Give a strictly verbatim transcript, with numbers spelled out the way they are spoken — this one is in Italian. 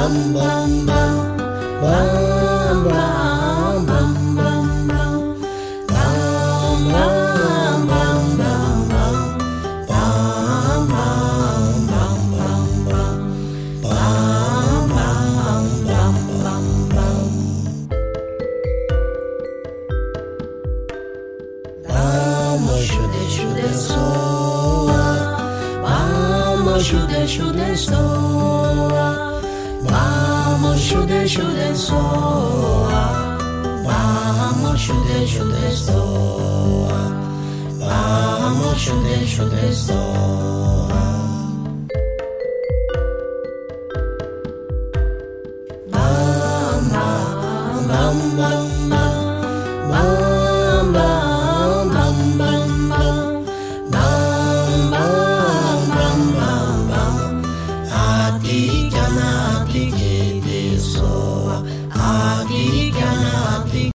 shude shude soa, vamos shude shude soa, vamos shude shude soa, vamos shude shude soa. Bam bam bam bam bam bam bam bam bam. Adi kana adi kete soa, adi kana